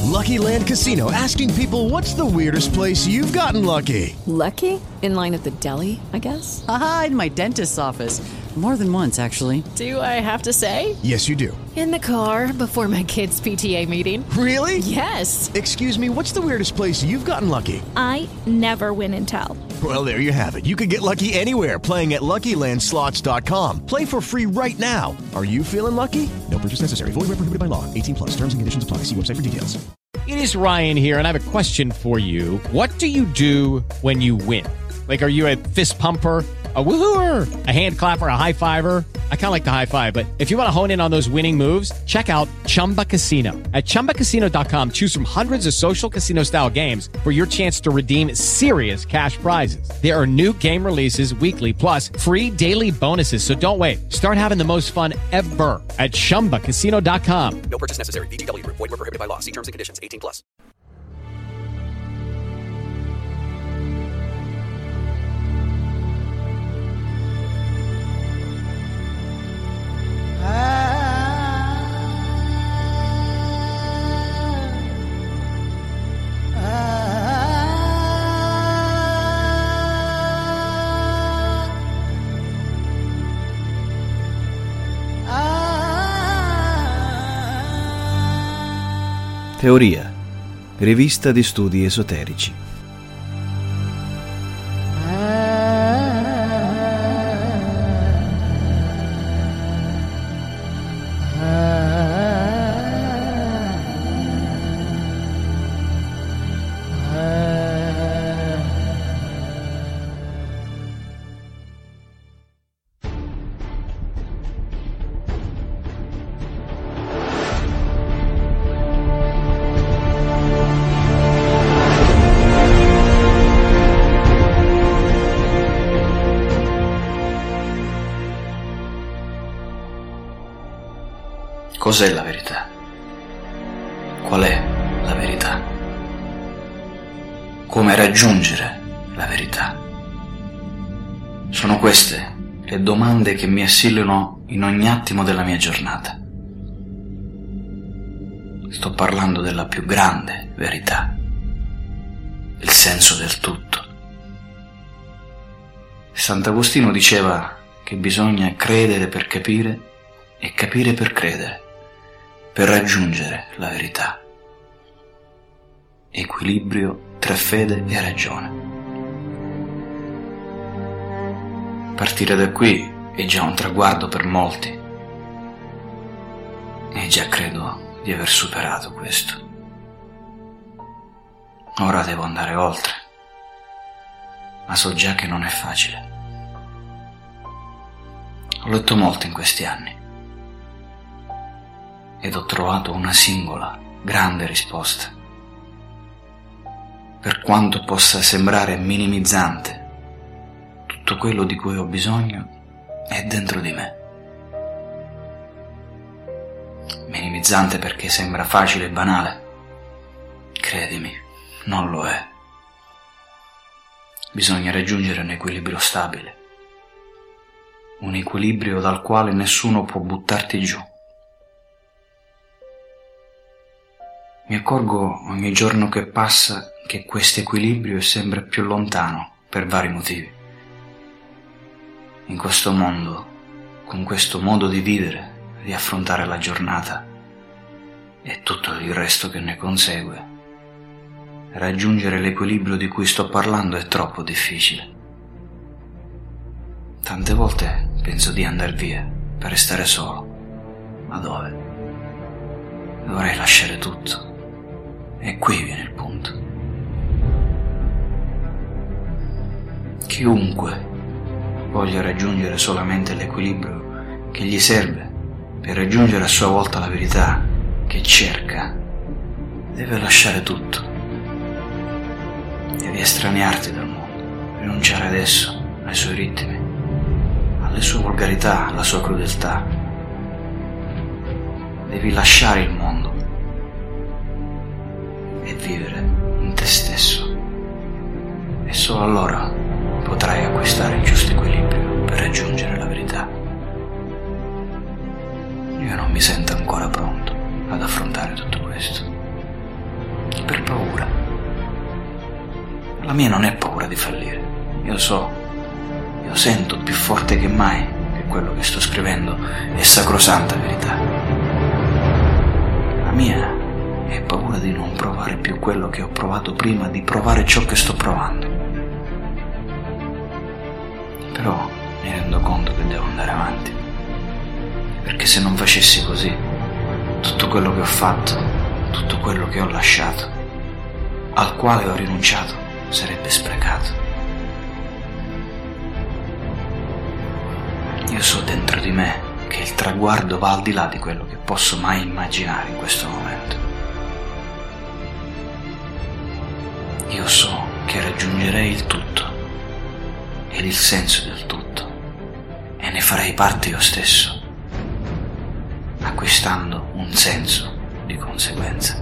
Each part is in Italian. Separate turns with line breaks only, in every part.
Lucky Land Casino, asking people, what's the weirdest place you've gotten lucky?
Lucky? In line at the deli, I guess?
Aha, in my dentist's office. More than once, actually.
Do I have to say?
Yes, you do.
In the car before my kids' PTA meeting.
Really?
Yes.
Excuse me, what's the weirdest place you've gotten lucky?
I never win and tell.
Well, there you have it. You can get lucky anywhere, playing at LuckyLandSlots.com. Play for free right now. Are you feeling lucky? No purchase necessary. Void where prohibited by law. 18 plus. Terms and conditions apply. See website for details.
It is Ryan here, and I have a question for you. What do you do when you win? Like, are you a fist pumper, a woohooer, a hand clapper, a high fiver? I kind of like the high five, but if you want to hone in on those winning moves, check out Chumba Casino. At ChumbaCasino.com, choose from hundreds of social casino-style games for your chance to redeem serious cash prizes. There are new game releases weekly, plus free daily bonuses. So don't wait. Start having the most fun ever at ChumbaCasino.com.
No purchase necessary. VGW. Void where prohibited by law. See terms and conditions. 18 plus.
Teoria, rivista di studi esoterici.
Cos'è la verità? Qual è la verità? Come raggiungere la verità? Sono queste le domande che mi assillano in ogni attimo della mia giornata. Sto parlando della più grande verità, il senso del tutto. Sant'Agostino diceva che bisogna credere per capire e capire per credere, per raggiungere la verità. Equilibrio tra fede e ragione. Partire da qui è già un traguardo per molti, e già credo di aver superato questo. Ora devo andare oltre, ma so già che non è facile. Ho letto molto in questi anni ed ho trovato una singola, grande risposta. Per quanto possa sembrare minimizzante, tutto quello di cui ho bisogno è dentro di me. Minimizzante perché sembra facile e banale. Credimi, non lo è. Bisogna raggiungere un equilibrio stabile, un equilibrio dal quale nessuno può buttarti giù. Mi accorgo ogni giorno che passa che questo equilibrio è sempre più lontano per vari motivi. In questo mondo, con questo modo di vivere, di affrontare la giornata e tutto il resto che ne consegue, raggiungere l'equilibrio di cui sto parlando è troppo difficile. Tante volte penso di andar via per restare solo. Ma dove? Dovrei lasciare tutto. E qui viene il punto. Chiunque voglia raggiungere solamente l'equilibrio che gli serve per raggiungere a sua volta la verità che cerca, deve lasciare tutto. Devi estraniarti dal mondo, rinunciare ad esso, ai suoi ritmi, alle sue volgarità, alla sua crudeltà. Devi lasciare il mondo e vivere in te stesso, e solo allora potrai acquistare il giusto equilibrio per raggiungere la verità. Io non mi sento ancora pronto ad affrontare tutto questo, mia non è paura di fallire. Io sento più forte che mai che quello che sto scrivendo è sacrosanta verità. La mia è paura di non provare più quello che ho provato prima di provare ciò che sto provando. Però mi rendo conto che devo andare avanti, perché se non facessi così, tutto quello che ho fatto, tutto quello che ho lasciato, al quale ho rinunciato, sarebbe sprecato. Io so dentro di me che il traguardo va al di là di quello che posso mai immaginare in questo momento. Io so che raggiungerei il tutto ed il senso del tutto e ne farei parte io stesso, acquistando un senso di conseguenza.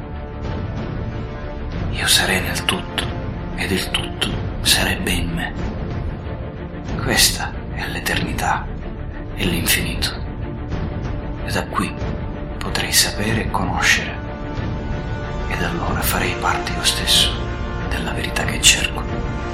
Io sarei nel tutto ed il tutto sarebbe in me. Questa è l'eternità e l'infinito, e da qui potrei sapere e conoscere, ed allora farei parte io stesso della verità che cerco.